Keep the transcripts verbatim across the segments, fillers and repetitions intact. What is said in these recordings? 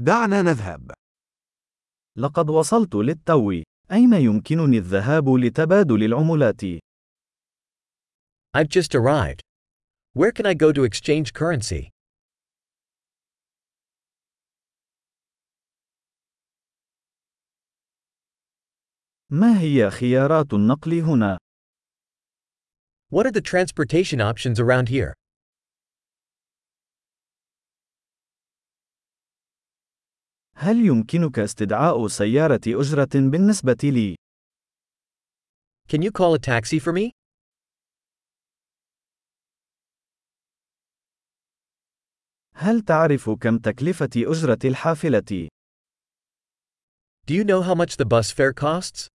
دعنا نذهب. لقد وصلت للتو. أين يمكنني الذهاب لتبادل العملات؟ I've just arrived. Where can I go to exchange currency? ما هي خيارات النقل هنا؟ What are the transportation options around here? هل يمكنك استدعاء سيارة أجرة بالنسبة لي؟ Can you call a taxi for me? هل تعرف كم تكلفة أجرة الحافلة؟ Do you know how much the bus fare costs?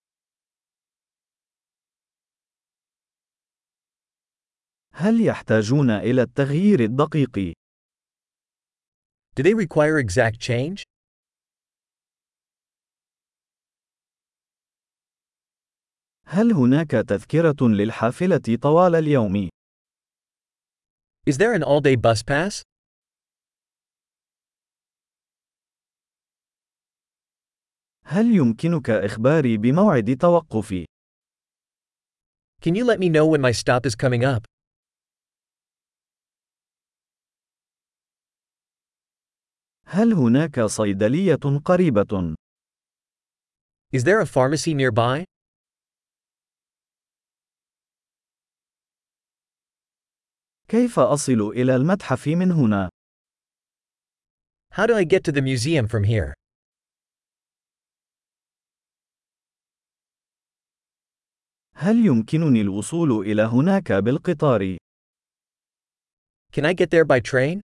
هل يحتاجون إلى التغيير الدقيق؟ Do they require exact change? هل هناك تذكرة للحافلة طوال اليوم؟ Is there an all-day bus pass? هل يمكنك إخباري بموعد توقفي؟ Can you let me know when my stop is coming up? هل هناك صيدلية قريبة؟ Is there a pharmacy nearby? كيف أصل إلى المتحف من هنا؟ How do I get to the museum from here? هل يمكنني الوصول إلى هناك بالقطار؟ Can I get there by train?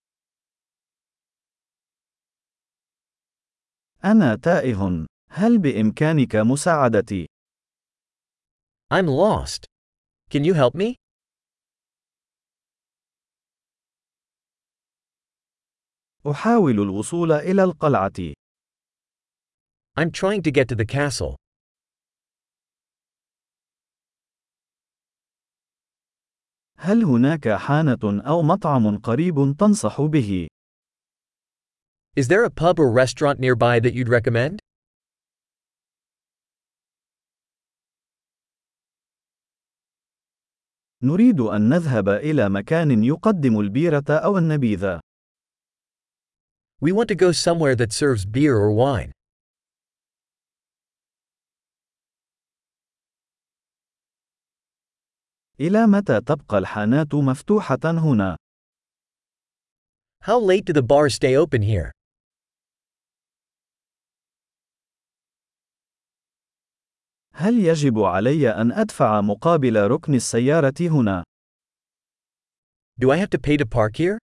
أنا تائه. هل بإمكانك مساعدتي؟ I'm lost. Can you help me? أحاول الوصول إلى القلعة. I'm trying to get to the castle. هل هناك حانة أو مطعم قريب تنصح به؟ Is there a pub or restaurant nearby that you'd recommend? نريد أن نذهب إلى مكان يقدم البيرة أو النبيذ. We want to go somewhere that serves beer or wine. إلى متى تبقى الحانات مفتوحة هنا؟ How late do the bars stay open here? هل يجب علي أن أدفع مقابل ركن السيارة هنا؟ Do I have to pay to park here?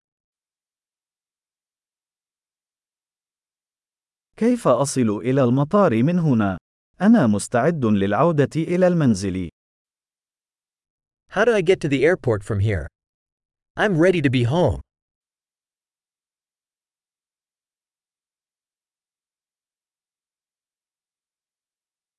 كيف أصل إلى المطار من هنا؟ أنا مستعد للعودة إلى المنزل. How do I get to the airport from here? I'm ready to be home.